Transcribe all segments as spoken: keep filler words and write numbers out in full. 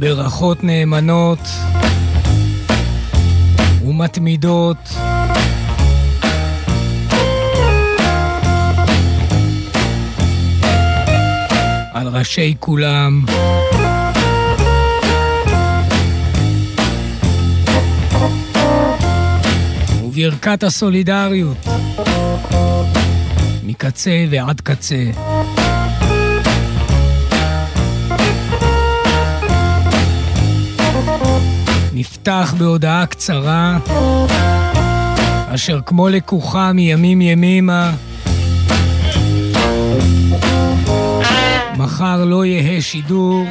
ברכות נאמנות ומתמידות על ראשי כולם. וברכת הסולידריות מקצה ועד קצה. נפתח בהודעה קצרה אשר כמו לקוחה מימים ימימה מחר לא יהיה שידור,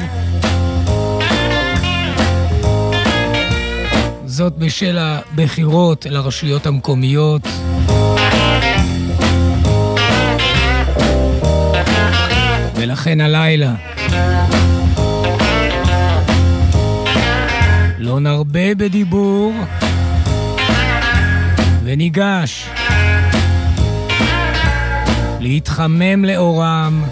זאת בשל הבחירות אל הרשויות המקומיות. ולכן הלילה לא נרבה בדיבור וניגש להתחמם לאורם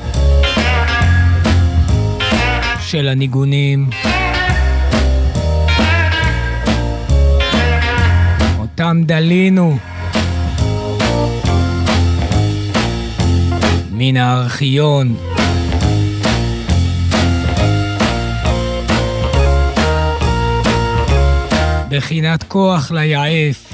של הניגונים אותם דלינו מן הארכיון. בחינת כוח ליעף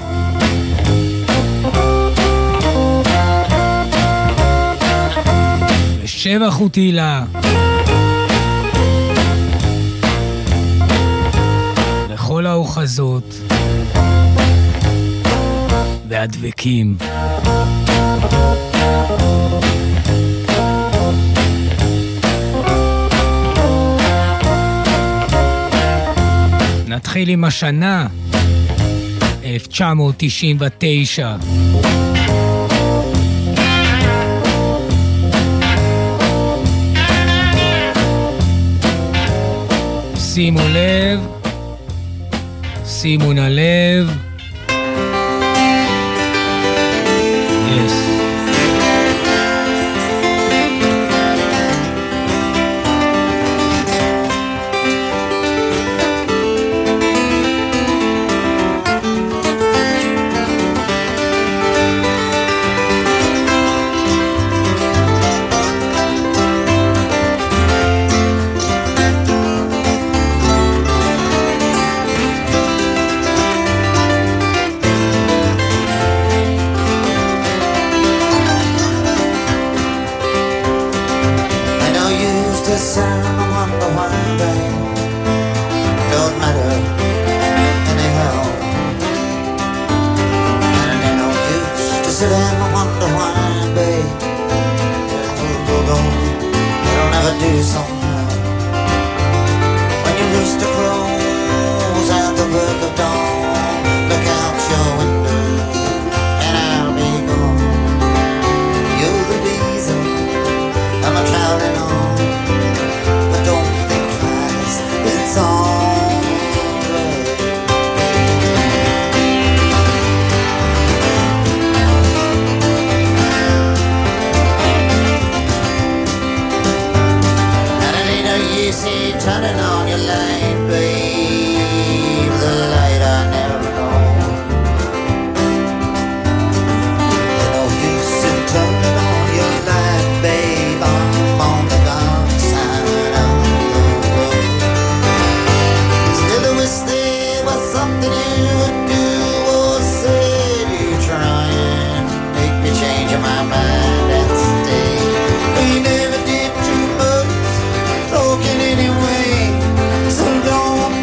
ושבח ותהילה לכל האוחזות והדבקים. נתחיל עם השנה אלף תשע מאות תשעים ותשע. שימו לב, שימו נא לב. Yes. Anyway, so don't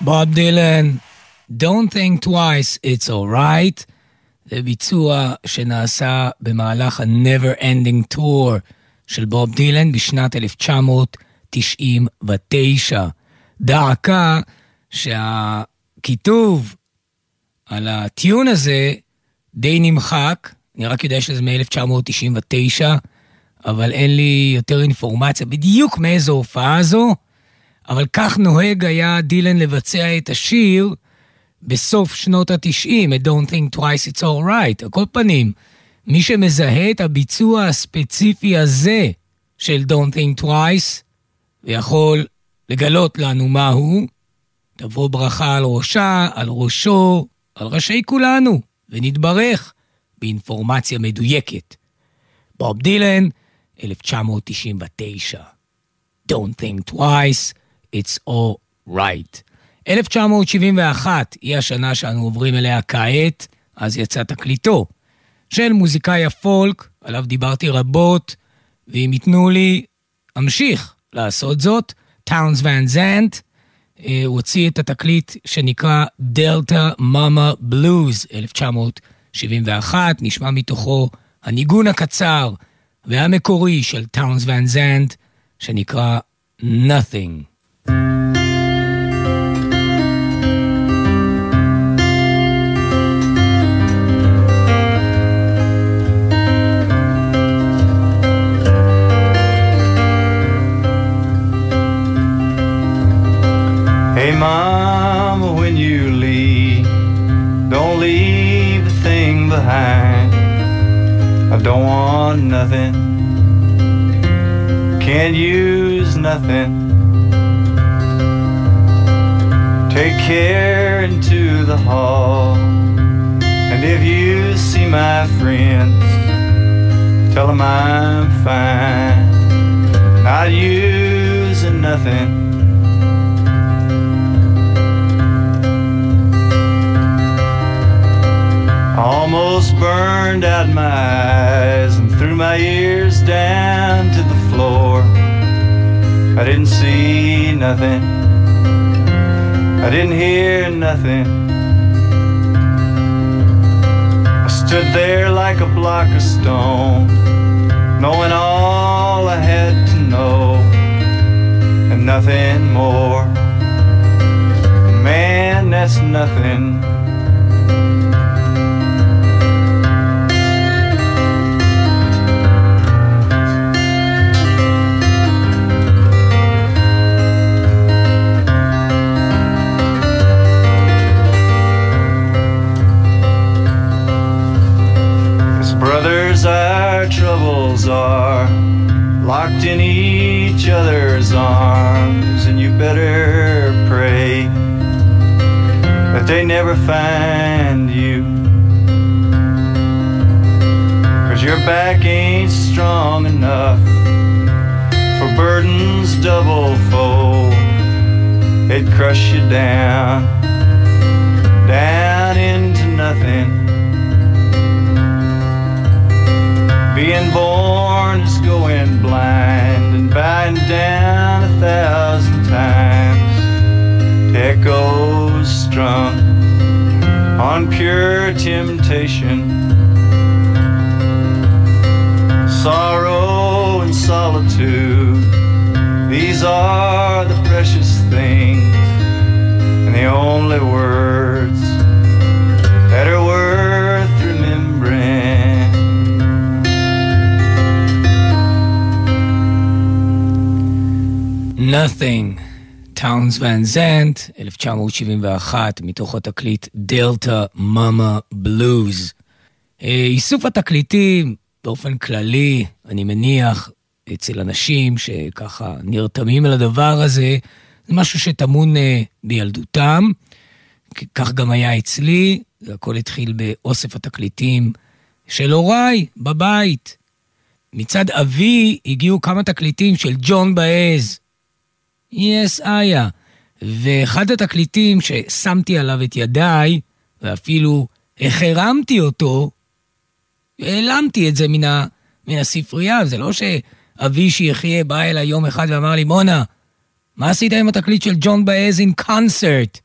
בוב דילן, Don't think twice, it's alright. זה ביצוע שנעשה במהלך ה-Never Ending Tour של בוב דילן בשנת אלף תשע מאות תשעים ותשע. דעקה שהכיתוב על הטיון הזה די נמחק, אני רק יודע שזה מ-אלף תשע מאות תשעים ותשע, אבל אין לי יותר אינפורמציה בדיוק מאיזו הופעה זו, אבל כך נוהג היה דילן לבצע את השיר בסוף שנות התשעים, את Don't think twice it's all right. על כל פנים, מי שמזהה את הביצוע הספציפי הזה של Don't think twice, ויכול לגלות לנו מהו, תבוא ברכה על ראשה, על ראשו, על ראשי כולנו, ונתברך באינפורמציה מדויקת. בוב דילן, אלף תשע מאות תשעים ותשע. Don't think twice, it's all right. אלף תשע מאות שבעים ואחת היא השנה שאנו עוברים אליה כעת, אז יצא תקליטו של מוזיקאי הפולק, עליו דיברתי רבות, ואם יתנו לי, אמשיך לעשות זאת. טאונס ואן זנט, הוא הוציא את התקליט שנקרא דלטה מאמה בלוז, אלף תשע מאות שבעים ואחת, נשמע מתוכו הניגון הקצר והמקורי של טאונס ואן זנט, שנקרא Nothing. Hey mama, when you leave, don't leave a thing behind. I don't want nothing, can't use nothing. Take care into the hall, and if you see my friends, tell them I'm fine, not using nothing. Almost burned out my eyes and threw my ears down to the floor. I didn't see nothing, I didn't hear nothing. I stood there like a block of stone, knowing all I had to know and nothing more. Man, that's nothing. Brothers, our troubles are locked in each other's arms, and you better pray that they never find you, 'cause your back ain't strong enough for burdens double fold. They'd crush you down, down into nothing. Being born is going blind and bowing down a thousand times to echoes strung on pure temptation. Sorrow and solitude, these are the precious things and the only words that are worth remembering. Nothing, טאונס ואן זנט, אלף תשע מאות שבעים ואחת, מתוך התקליט דלטה מאמה בלוז. איסוף התקליטים באופן כללי, אני מניח, אצל אנשים שככה נרתמים על הדבר הזה, זה משהו שטמון בילדותם, כך גם היה אצלי, הכל התחיל באוסף התקליטים של הוריי בבית. מצד אבי הגיעו כמה תקליטים של ג'ון באז, יס איה, ואחד התקליטים ששמתי עליו את ידיי, ואפילו החרמתי אותו, העלמתי את זה מן, ה, מן הספרייה. זה לא שאבי שיחיה בא אליי יום אחד ואמר לי, מונה, מה עשית עם התקליט של ג'ון באז אין קונצרט?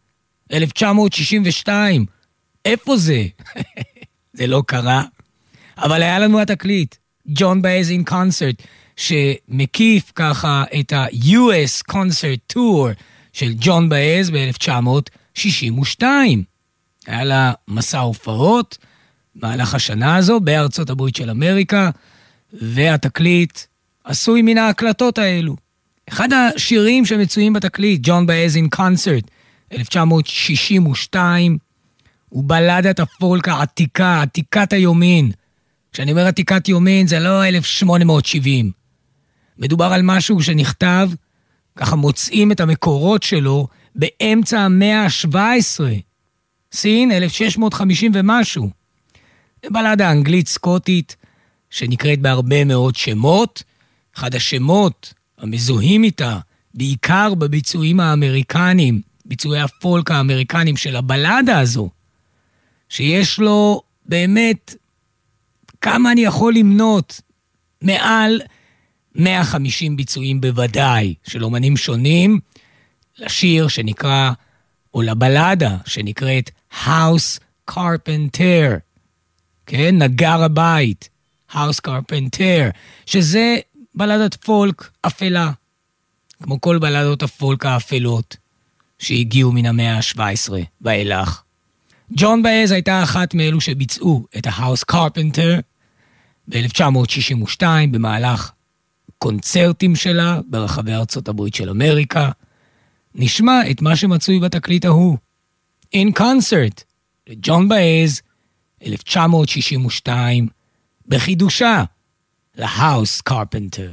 אלף תשע מאות שישים ושתיים. איפה זה? זה לא קרה. אבל היה לנו התקליט, ג'ון באז אין קונצרט, שמקיף ככה את ה-יו אס Concert Tour של ג'ון באז ב-אלף תשע מאות שישים ושתיים. היה לה מסע הופעות במהלך השנה הזו בארצות הברית של אמריקה, והתקליט עשוי מן ההקלטות האלו. אחד השירים שמצויים בתקליט, ג'ון באז אין קונצרט, אלף תשע מאות שישים ושתיים, הוא בלדת הפולק העתיקה, עתיקת היומין. כשאני אומר עתיקת יומין, זה לא אלף שמונה מאות שבעים. מדובר על משהו שנכתב, ככה מוצאים את המקורות שלו, באמצע המאה ה-שבע עשרה. סין, אלף שש מאות חמישים ומשהו. זה בלדה אנגלית סקוטית, שנקראת בהרבה מאוד שמות. אחד השמות המזוהים איתה, בעיקר בביצועים האמריקנים, ביצועי הפולק האמריקנים של הבלדה הזו, שיש לו באמת, כמה אני יכול למנות, מעל מאה וחמישים ביצועים בוודאי, של אומנים שונים, לשיר שנקרא, או לבלדה שנקראת House Carpenter, כן, נגר הבית, House Carpenter, שזה בלדת פולק אפלה, כמו כל בלדות הפולק האפלות, שהגיעו מן המאה ה-שבע עשרה ואילך. ג'ון באז הייתה אחת מאלו שביצעו את ה-House Carpenter ב-אלף תשע מאות שישים ושתיים במהלך קונצרטים שלה ברחבי ארצות הברית של אמריקה. נשמע את מה שמצוי בתקליט ההוא. In Concert, לג'ון באז, אלף תשע מאות שישים ושתיים, בחידושה, ל-House Carpenter.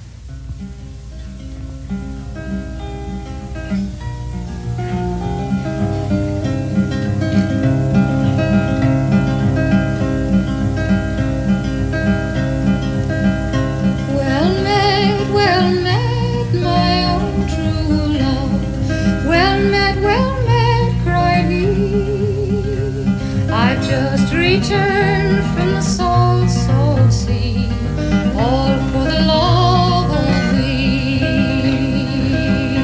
Return from the salt, salt sea, all for the love of thee.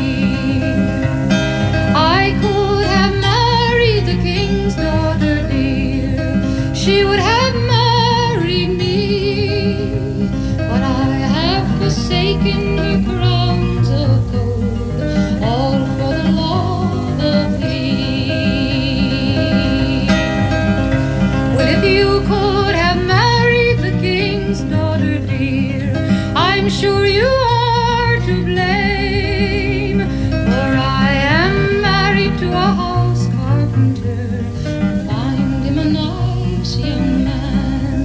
I could have married the king's daughter dear, she would have married me, but I have forsaken her crowns of gold, all for the love of thee. If you could have married the king's daughter dear, I'm sure you are to blame, for I am married to a house carpenter, and find him a nice young man.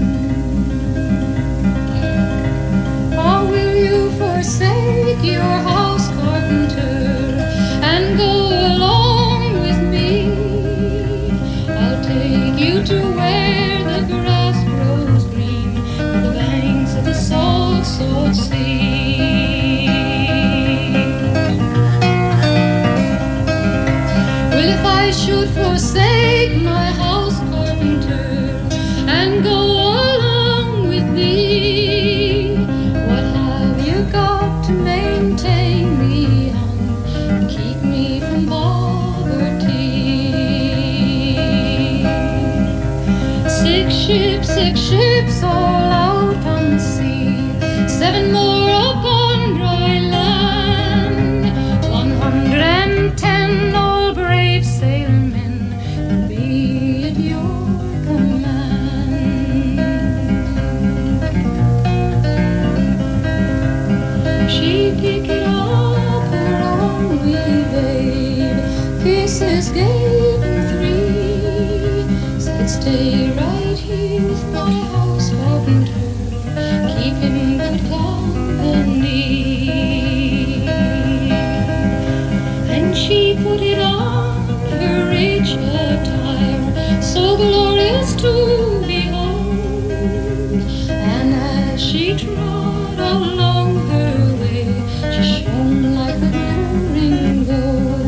Or will you forsake your house carpenter and go along with me? I'll take you to where salt, salt sea. Well, if I should forsake my house carpenter and go along with thee, what have you got to maintain me on and keep me from poverty? Six ships, six ships all out on the sea, seven more upon dry land, one hundred and ten all brave sailormen will be at your command. She picked it up her own wee babe, kisses gave him three, said stay right here with my house carpenter, keep him good company. And she put it on her rich attire, so glorious to behold, and as she trod along her way, she shone like the glittering gold.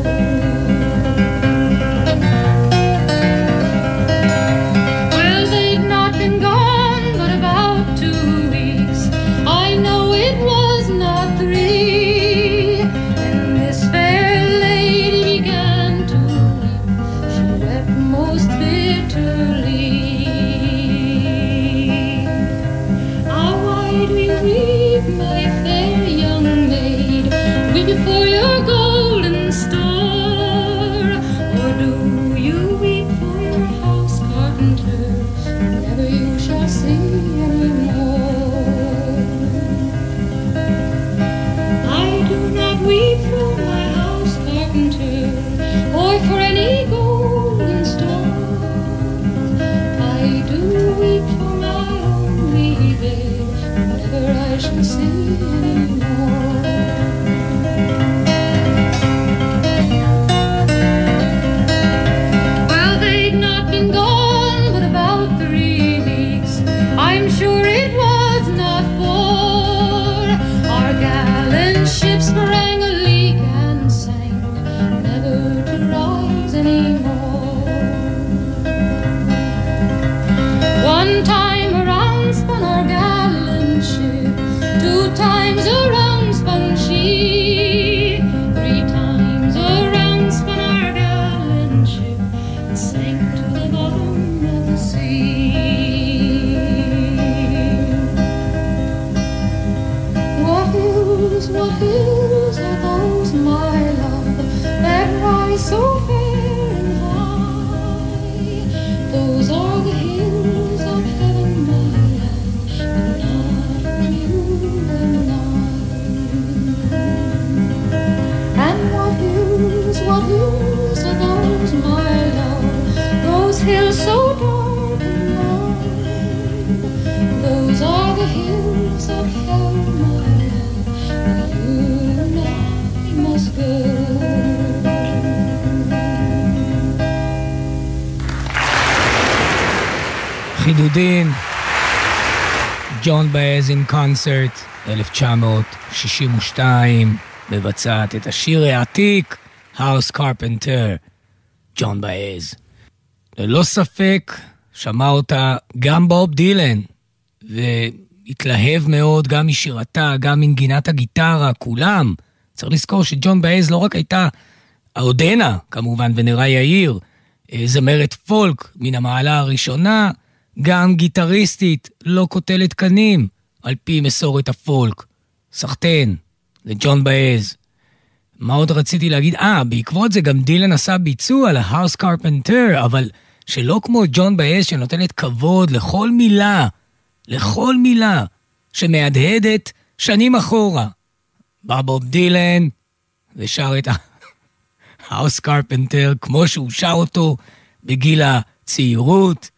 Well, they'd not been gone but about two weeks, I know it was not three, when this fair lady began to weep for your golden store? Or do you weep for your house carpenter, who never you shall see anymore? I do not weep for my house carpenter, or for any golden store. I do weep for my only babe, who never I shall see anymore. Well, they'd not been gone but about three weeks. I'm sure it was not four. Our gallant ship sprang a leak and sank, never to rise anymore. One time around spun our gallant ship, two times around spun she, three times around spun our gallant ship, and sank to the bottom of the sea. What hills, what hills are those, my love, that rise so fair and high? Those are the hills of heaven, my love, but not for you and I. And what hills, what hills are those, my love, those hills so dark and wide? Those are the hills of heaven, my love, but you and I must go. חידודין, ג'ון באז אין קונצרט, אלף תשע מאות שישים ושתיים, מבצעת את השיר העתיק, House Carpenter, ג'ון באז. ללא ספק, שמע אותה גם בוב דילן, והתלהב מאוד גם משירתה, גם מנגינת הגיטרה, כולם. צריך לזכור שג'ון באז לא רק הייתה, עודנה כמובן, ונראה יאיר, זמרת פולק מן המעלה הראשונה, גם גיטריסטית, לא קוטלת קנים, על פי מסורת הפולק. סחטן, לג'ון באז. מה עוד רציתי להגיד? אה, בעקבות זה גם דילן עשה ביצוע ל-House Carpenter, אבל שלא כמו ג'ון באז שנותנת כבוד לכל מילה, לכל מילה, שמהדהדת שנים אחורה. בא בוב דילן ושר את ה-House Carpenter כמו שהוא שר אותו בגיל הצעירות,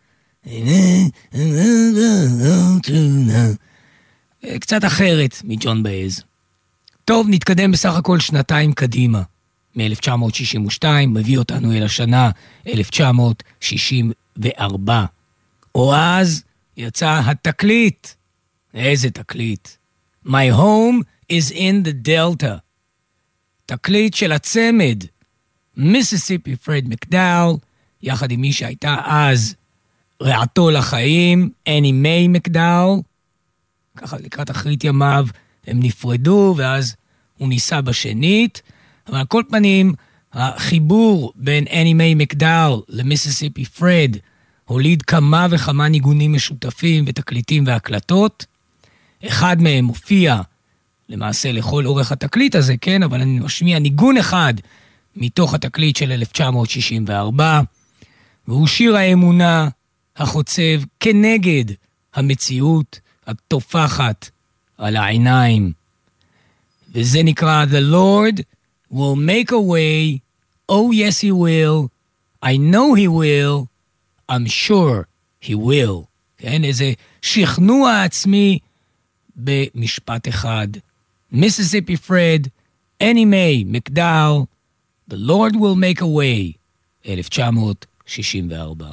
קצת אחרת מג'ון באז. טוב, נתקדם בסך הכל שנתיים קדימה. מ-אלף תשע מאות שישים ושתיים מביא אותנו אל השנה אלף תשע מאות שישים וארבע. או אז יצא התקליט. איזה תקליט? My home is in the Delta. תקליט של הצמד. מיסיסיפי פרד מקדאול, יחד עם מי שהייתה אז רעתו לחיים, אני מיי מקדאול. ככה לקראת אחרית ימיו הם נפרדו, ואז הוא ניסה בשנית. אבל על כל פנים, החיבור בין אני מיי מקדאול למיסיסיפי פרד הוליד כמה וכמה ניגונים משותפים ותקליטים והקלטות. אחד מהם מופיע למעשה לכל אורך התקליט הזה, כן? אבל אני משמיע ניגון אחד מתוך התקליט של אלף תשע מאות שישים וארבע, והוא שיר האמונה החוצב כנגד המציאות התופחת על העיניים. וזה נקרא The Lord will make a way, oh yes he will, I know he will, I'm sure he will. כן, איזה שכנוע עצמי במשפט אחד. מיסיסיפי פרד, אני מיי מקדאול, The Lord will make a way, אלף תשע מאות שישים וארבע.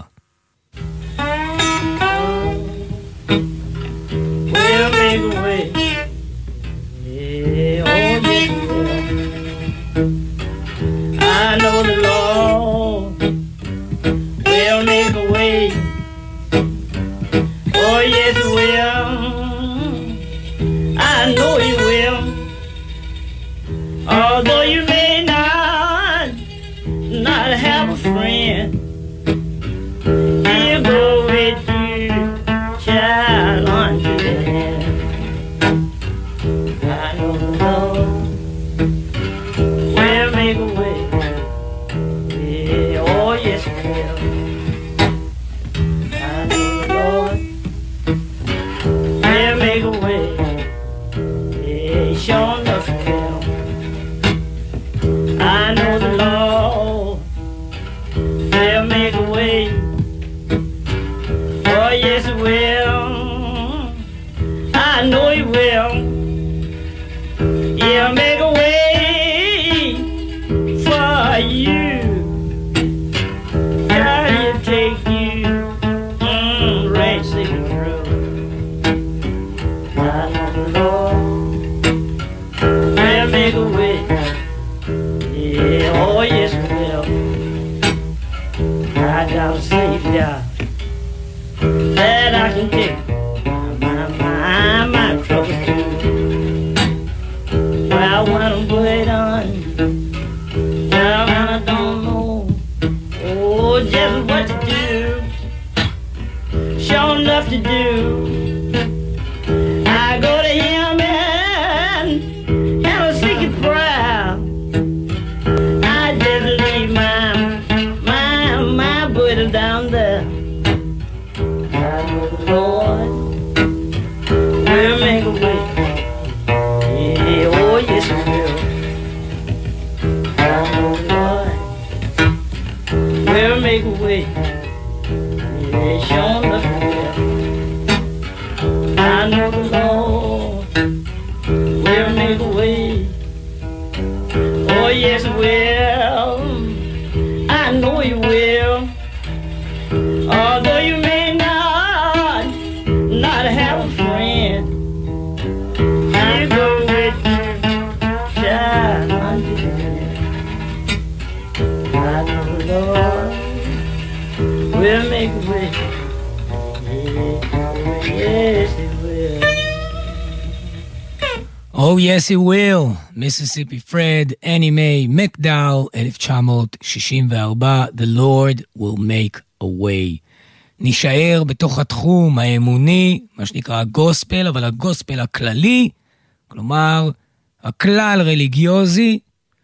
We'll make a way. Yeah, oh yes we will. I know the Lord will make a way. Oh yes he will. I know he will. Although you may not not have a friend, he'll go with you, child, unto the end. know he will. He'll make a way for you. God, he'll take you mm, right safe through. I know the Lord will make a way. Yeah, oh yes he will. I got a Savior that I can take my, my, my troubles to. Well, when I'm put on, well, when I don't know, oh, just what to do, sure enough to do, I go to him and have a secret prayer. I just leave my, my, my burden down there. I know the Lord will make a way. Yeah, oh yes he will. I know the Lord will make a way. Yeah, sure enough he will. I know the Lord will make a way. Oh yes he will. I know he will. Although you may not, not have a friend, I'll go with you, shine under the hand. I know the Lord will make a way. Yeah, yes he will. Oh yes he will, מיסיסיפי פרד, אני מיי מקדאו, אלף תשע מאות שישים וארבע, The Lord will make a way. נשאר בתוך התחום האמוני, מה שנקרא הגוספל, אבל הגוספל הכללי, כלומר, הכלל רליגיוזי,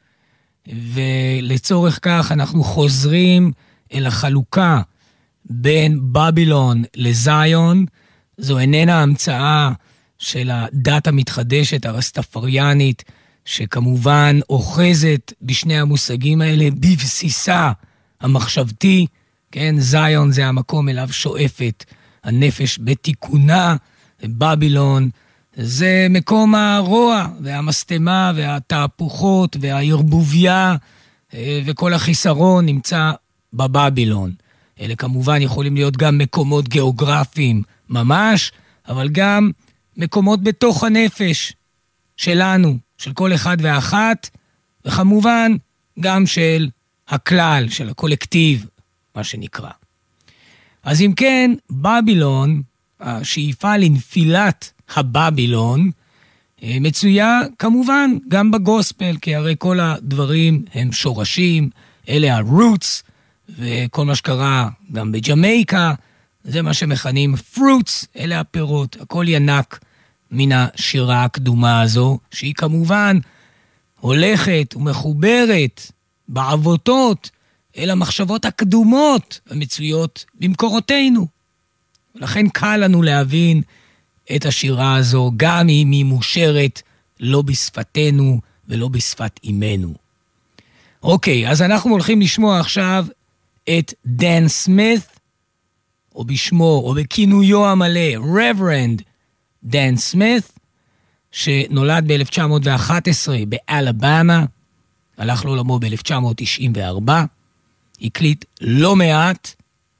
ולצורך כך אנחנו חוזרים אל החלוקה בין בבילון לזיון. זו איננה המצאה של הדת המתחדשת הרסטפריאנית, שכמובן אוחזת בשני המושגים האלה בבסיסה המחשבתי. כן, זיון זה המקום אליו שואפת הנפש בתיקונה, ובבילון זה מקום הרוע והמסתמה והתהפוכות והערבוביה, וכל החיסרון נמצא בבבילון. אלה כמובן יכולים להיות גם מקומות גיאוגרפיים ממש, אבל גם מקומות בתוך הנפש שלנו, של כל אחד ואחת, וכמובן גם של הכלל, של הקולקטיב, מה שנקרא. אז אם כן, בבילון, השאיפה לנפילת הבבילון, מצויה כמובן גם בגוספל, כי הרי כל הדברים הם שורשים, אלה הרוטס, וכל מה שקרה גם בג'מייקה, זה מה שמכנים פרוטס, אלה הפירות, הכל ינק מן השירה הקדומה הזו, שהיא כמובן הולכת ומחוברת בעבותות אל המחשבות הקדומות המצויות במקורותינו. ולכן קל לנו להבין את השירה הזו, גם אם היא מושרת לא בשפתנו ולא בשפת אימנו. אוקיי, אז אנחנו הולכים לשמוע עכשיו את דן סמית, או בשמו, או בכינויו המלא, רברנד דן סמית, שנולד ב-אלף תשע מאות ואחת עשרה באלבמה, הלך לעולמו ב-אלף תשע מאות תשעים וארבע, הקליט לא מעט.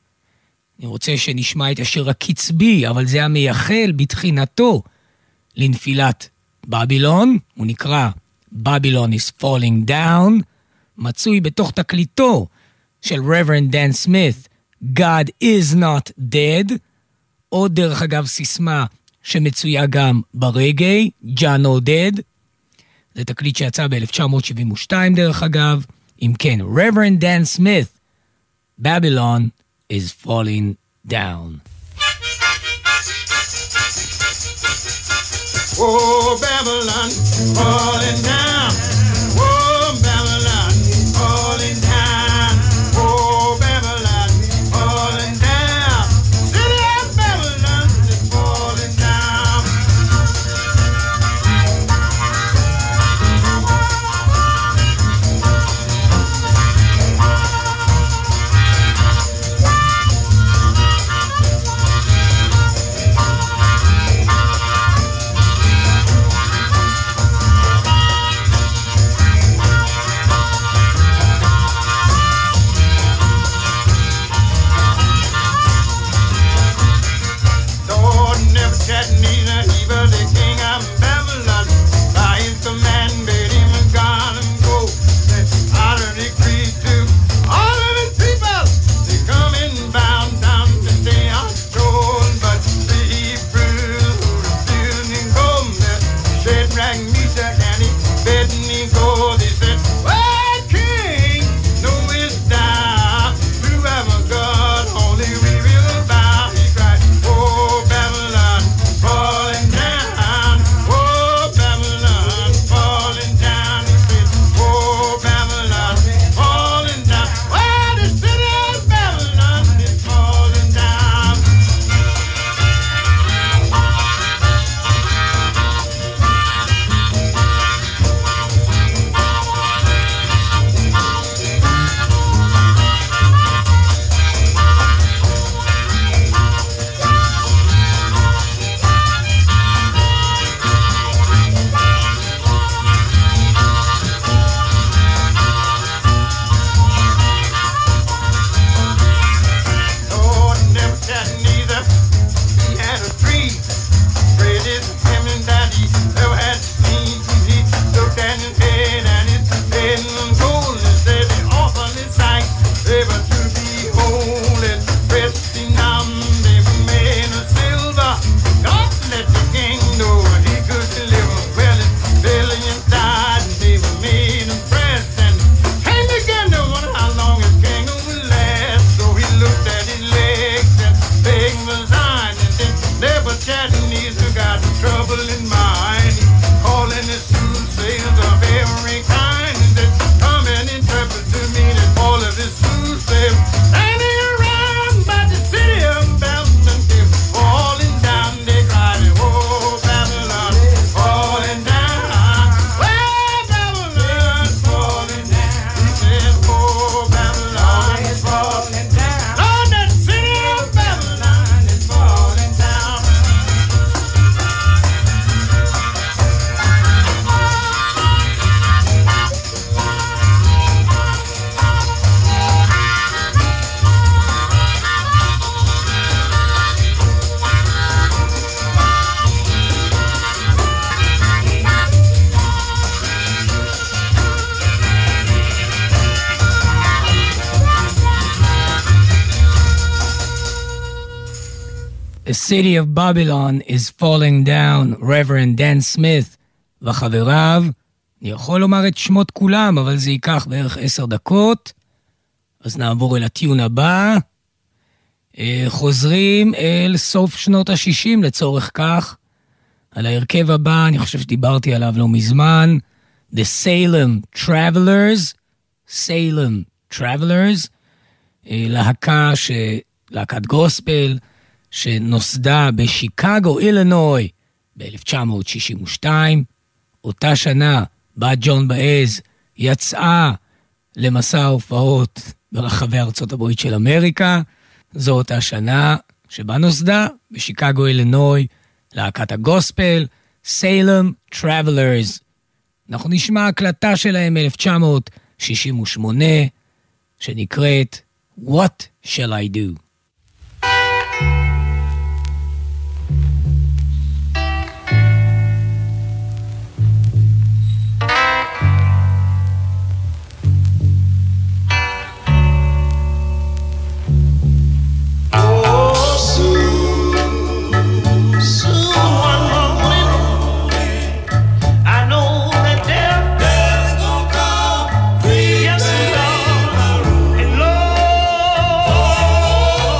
אני רוצה שנשמע את השיר הקצבי, אבל זה המייחל בתחינתו לנפילת בבילון, הוא נקרא Babylon is Falling Down, מצוי בתוך תקליטו של רברנד דן סמית, God is not dead, או דרך אגב סיסמה שמצויה גם ברגעי, John no dead, זה תקליט שיצא ב-אלף תשע מאות שבעים ושתיים דרך אגב. אם כן, רברנד דן סמית, Babylon is falling down. Oh, Babylon, falling down. Oh, Babylon, falling down. Oh, Babylon, falling down. City of Babylon is falling down. troubling mind, calling the soothsayers of every kind that come and interpret to me that all of the soothsayers standing around by the city of Babylon, they're falling down, they cry, oh, Babylon, falling down, well, Babylon's falling down, he said, oh, Babylon is falling down, Lord, that city of Babylon is falling down. The city of Babylon is falling down, Reverend Dan Smith וחבריו. אני יכול לומר את שמות כולם, אבל זה ייקח בערך עשר דקות. אז נעבור אל הטיון הבא. חוזרים אל סוף שנות ה-שישים לצורך כך. על ההרכב הבא, אני חושב שדיברתי עליו לא מזמן. The Salem Travelers. Salem Travelers. להקה, ש... להקת גוספל, שנוסדה בשיקגו, אילינוי, ב-אלף תשע מאות שישים ושתיים. אותה שנה, בת ג'ון באז יצאה למסע הופעות ברחבי ארצות הברית של אמריקה. זו אותה שנה שבה נוסדה בשיקגו, אילינוי, להקת הגוספל, סיילם טראבלרס. אנחנו נשמע הקלטה שלהם מ-אלף תשע מאות שישים ושמונה, שנקראת What Shall I Do? Oh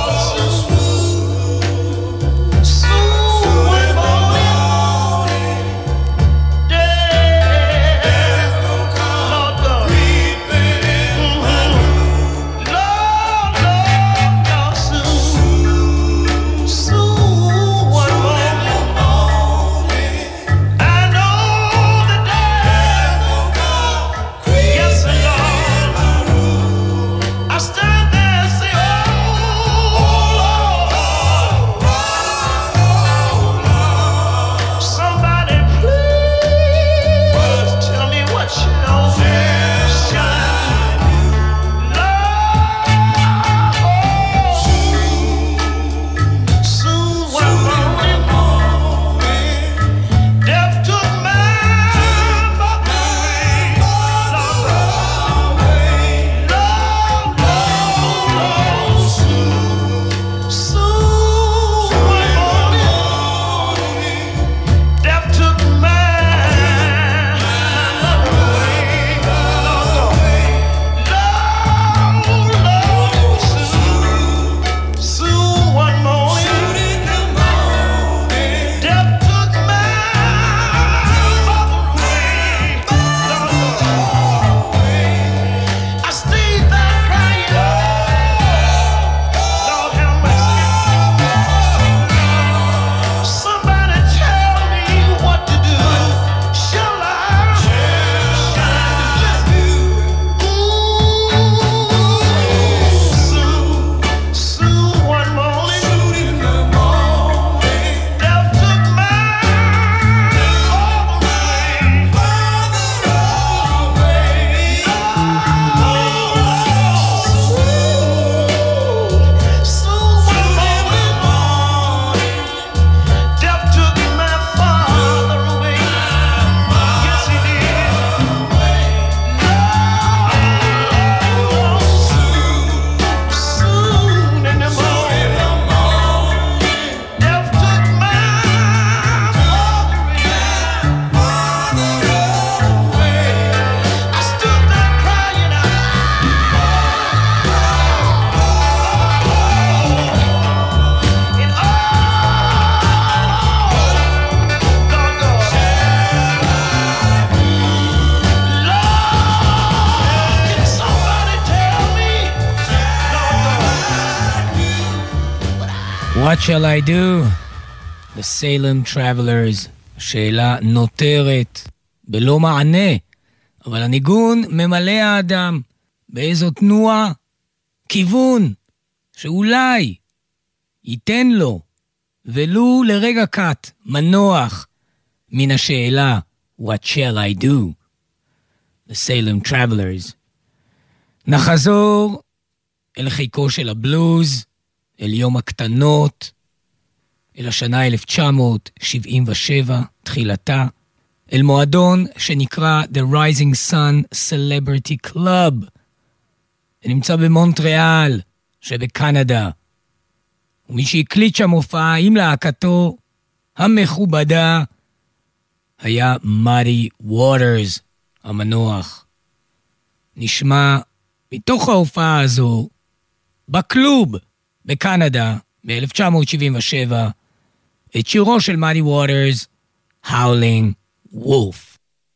What shall I do? The Salem Travelers. שאלה נותרת בלא מענה, אבל הניגון ממלא האדם. באיזו תנועה? כיוון, שאולי ייתן לו, ולו לרגע קט, מנוח, מן השאלה, What shall I do? The Salem Travelers. נחזור אל חיקו של הבלוז, אל יום הקטנות, אל השנה אלף תשע מאות שבעים ושבע, תחילתה, אל מועדון שנקרא The Rising Sun Celebrity Club. נמצא במונטריאל שבקנדה. ומי שהקליט שם הופעה עם להקתו המכובדה היה מאדי ווטרס המנוח. נשמע מתוך ההופעה הזו בקלוב בקנדה ב-אלף תשע מאות שבעים ושבע את שירו של מאדי ווטרס, Howling Wolf.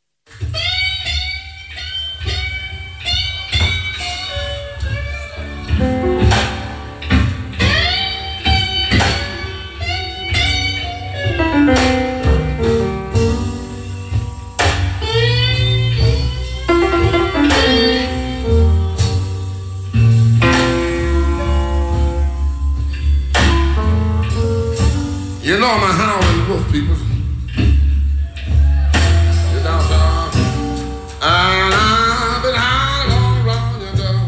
You know I'm a howling wolf, people. You're down, down. And I've been howling all around your door.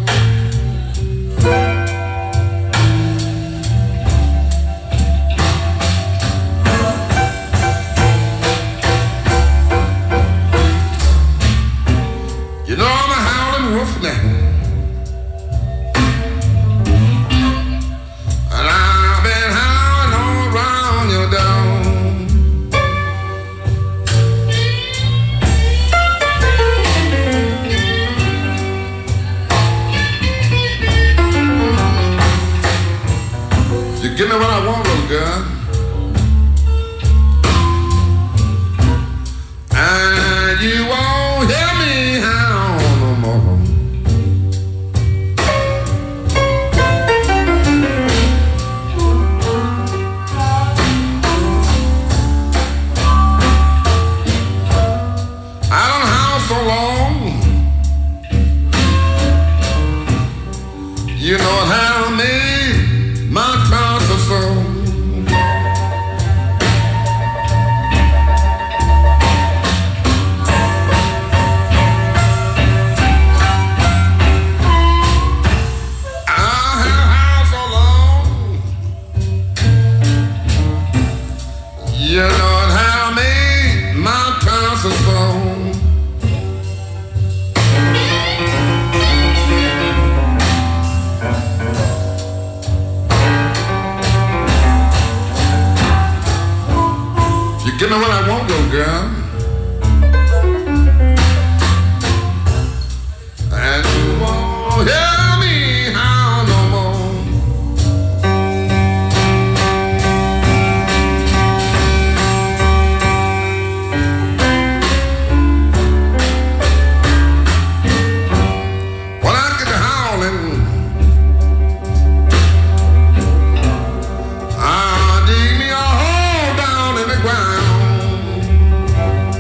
You know I'm a howling wolf now. And I've been howling all around your door. You give me what I want, little girl. And you won't hear me howl no more. I don't howl so long. You know it how me, my conscience soul. I have howled so long. You know it how me, my conscience soul. You give me what I want, little girl. And you won't hear me howl no more. When I get to howling, I dig me a hole down in the ground.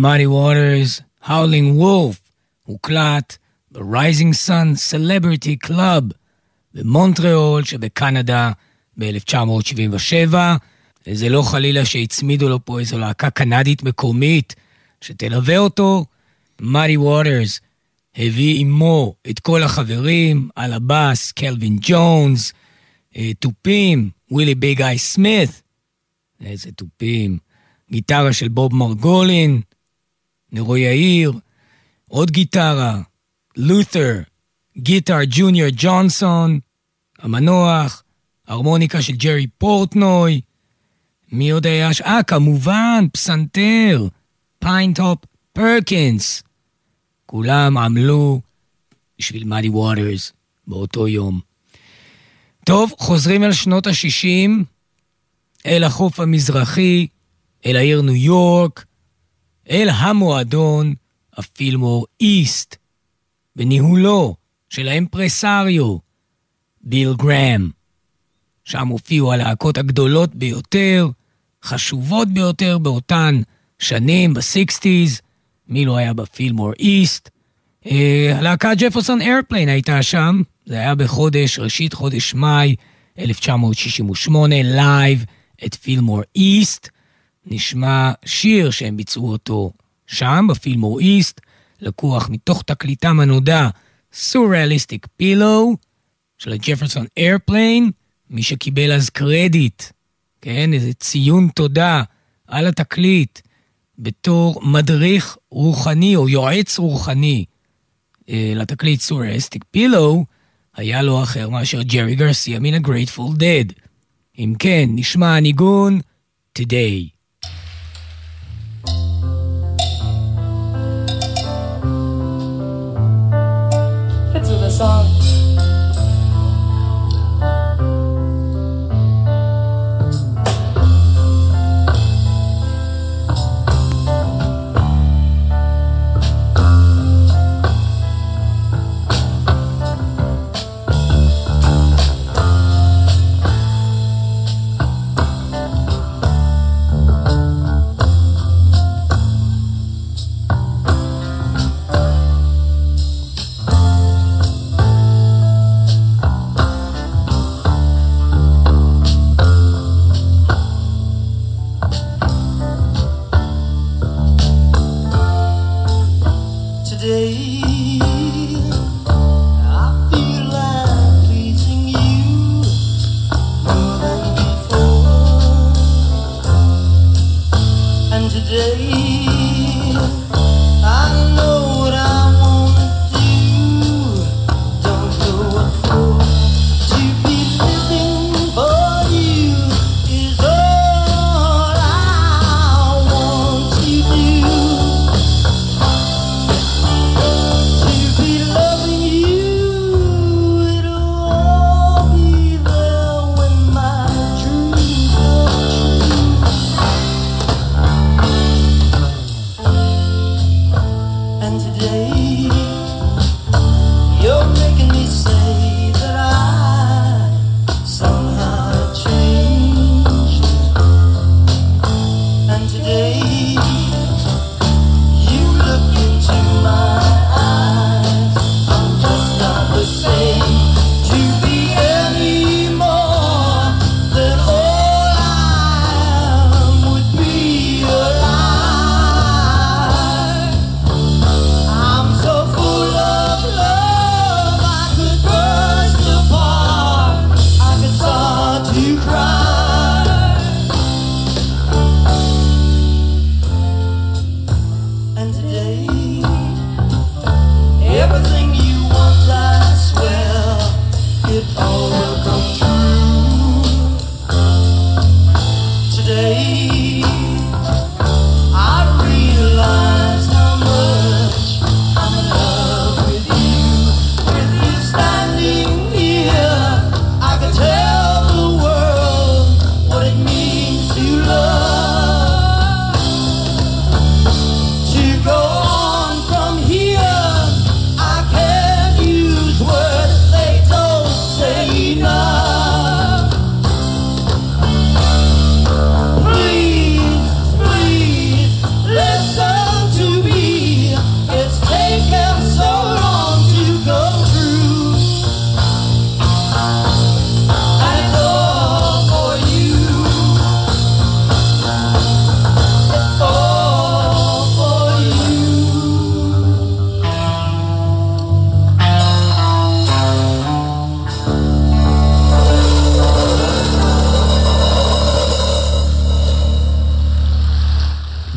Muddy Waters, Howling Wolf, הוקלט ב-Rising Sun Celebrity Club במונטריאול שבקנדה ב-אלף תשע מאות שבעים ושבע. זה לא חלילה שהצמידו לו פה איזו להקה קנדית מקומית שתלווה אותו. Muddy Waters הביא עמו את כל החברים, על הבאס קלווין ג'ונס, טופים, ווילי ביג איי סמית, איזה טופים, גיטרה של בוב מרגולין, נרו יאיר, עוד גיטרה, לותר, גיטר ג'וניור ג'ונסון, המנוח, הרמוניקה של ג'רי פורטנוי, מי עוד היה? אה, כמובן, פסנתר, פיינטופ פרקינס, כולם עמלו בשביל מאדי ווטרס באותו יום. טוב, חוזרים אל שנות ה-שישים, אל החוף המזרחי, אל העיר ניו יורק, אל המועדון הפילמור איסט, בניהולו של האמפרסריו, ביל גרם. שם הופיעו הלהקות הגדולות ביותר, חשובות ביותר באותן שנים, ב-שישים, מי לא היה בפילמור איסט. הלהקה ג'פרסון איירפליין הייתה שם, זה היה בחודש, ראשית חודש מאי, אלף תשע מאות שישים ושמונה, לייב את פילמור איסט. נשמע שיר שהם ביצעו אותו שם, בפילמור איסט, לקוח מתוך תקליטם הנודע, Surrealistic Pillow, של הג'פרסון איירפליין, מי שקיבל אז קרדיט, כן, איזה ציון תודה על התקליט, בתור מדריך רוחני או יועץ רוחני אה, לתקליט Surrealistic Pillow, היה לו אחר מאשר ג'רי גרסיה מן ה-Grateful Dead. אם כן, נשמע הניגון Today. Fits with the song.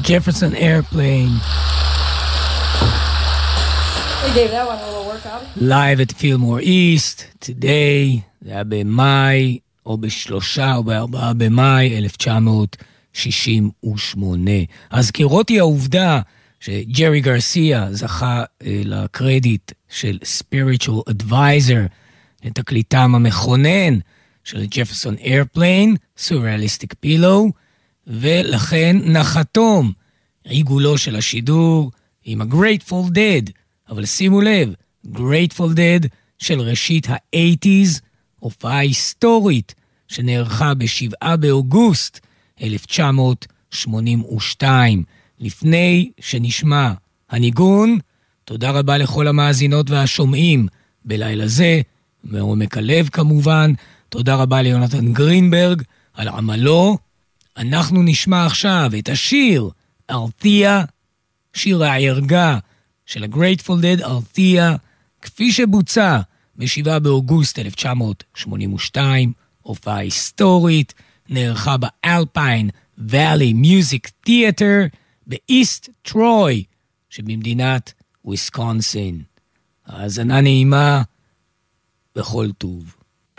Jefferson Airplane. They gave that one a little workout. Live at Fillmore East, today, זה היה במאי, או בשלושה או בארבעה במאי, אלף תשע מאות שישים ושמונה. הזכירות היא העובדה שג'רי גרסיה זכה אה, לקרדיט של Spiritual Advisor, לתקליטם המכונן של ג'פרסון איירפליין, Surrealistic Pillow, ולכן נחתום עיגולו של השידור עם ה-Grateful Dead, אבל שימו לב, Grateful Dead של ראשית ה-שמונים, הופעה היסטורית שנערכה בשבעה באוגוסט אלף תשע מאות שמונים ושתיים. לפני שנשמע הניגון, תודה רבה לכל המאזינות והשומעים בלילה זה, מעומק הלב כמובן, תודה רבה ליונתן גרינברג על עמלו. אנחנו נשמע עכשיו את השיר ארתיה, שיר הערגה של ה-Grateful Dead, ארתיה, כפי שבוצע ב-שבעה באוגוסט אלף תשע מאות שמונים ושתיים, הופעה היסטורית, נערכה באלפיין ואלי מיוזיק תיאטר באיסט טרוי שבמדינת וויסקונסין. האזנה נעימה בכל טוב.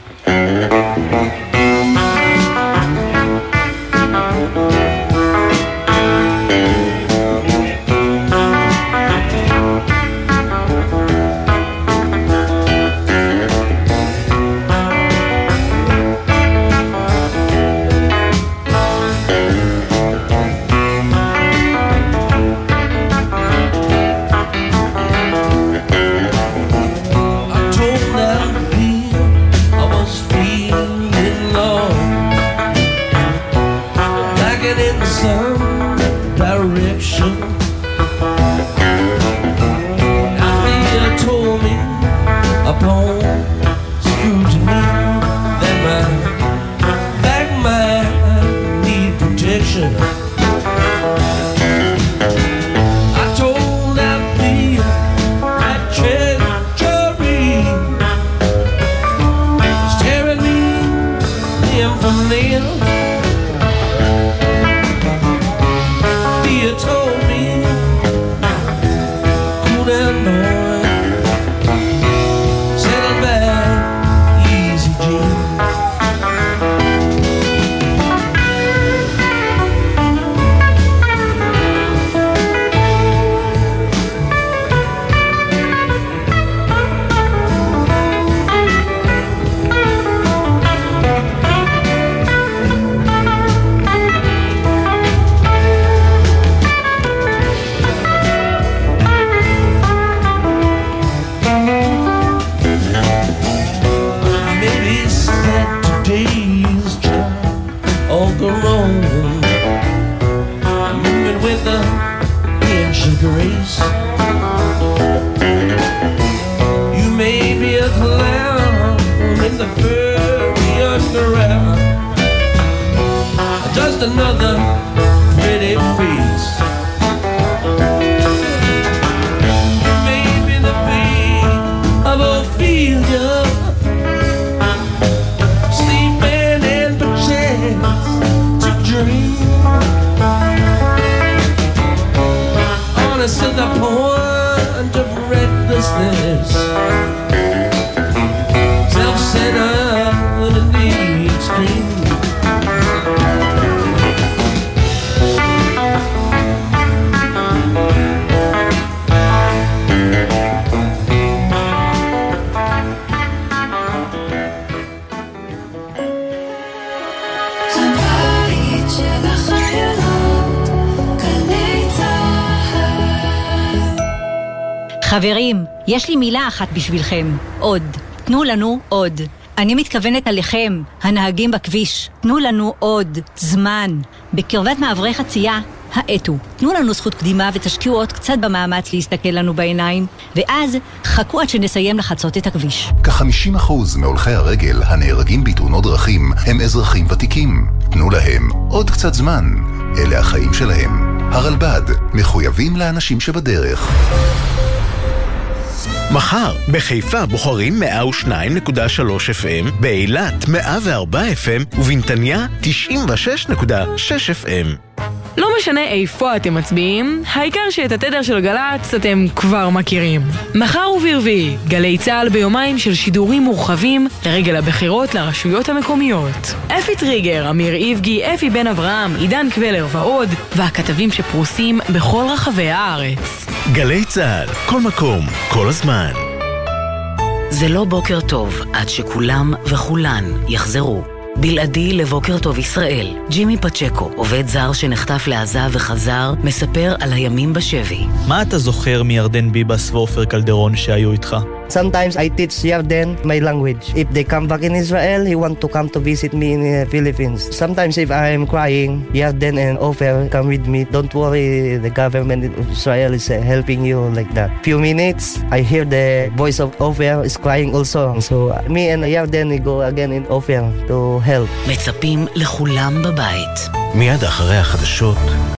חברים, יש לי מילה אחת בשבילכם, עוד. תנו לנו עוד. אני מתכוונת עליכם, הנהגים בכביש. תנו לנו עוד זמן. בקרבת מעברי חצייה, האטו. תנו לנו זכות קדימה ותשקיעו עוד קצת במאמץ להסתכל לנו בעיניים, ואז חכו עד שנסיים לחצות את הכביש. כ-חמישים אחוז מהולכי הרגל הנהרגים בתאונות דרכים הם אזרחים ותיקים. תנו להם עוד קצת זמן. אלה החיים שלהם. הרלב"ד, מחויבים לאנשים שבדרך. מחר, בחיפה בוחרים מאה ושתיים נקודה שלוש אף אם, באילת מאה וארבע אף אם ובנתניה תשעים ושש נקודה שש אף אם. לא משנה איפה אתם מצביעים, העיקר שאת התדר של גל"צ אתם כבר מכירים. מחר וברביעי, גלי צהל ביומיים של שידורים מורחבים לרגל הבחירות לרשויות המקומיות. אפי טריגר, אמיר איבגי, אפי בן אברהם, עידן קבלר ועוד, והכתבים שפרוסים בכל רחבי הארץ. גלי צהל, כל מקום, כל הזמן. זה לא בוקר טוב עד שכולם וכולן יחזרו. בלעדי לבוקר טוב ישראל, ג'ימי פצ'קו, עובד זר שנחטף לעזה וחזר, מספר על הימים בשבי. מה אתה זוכר מירדן ביבס ואופר קלדרון שהיו איתך? Sometimes I teach Yarden my language. If they come back in Israel, he want to come to visit me in the Philippines. Sometimes if I am crying, Yarden and Ofer come with me. Don't worry, the government of Israel is helping you like that. Few minutes, I hear the voice of Ofer is crying also. So me and Yarden we go again in Ofer to help. מצפים לכולם בבית. מיד אחרי החדשות.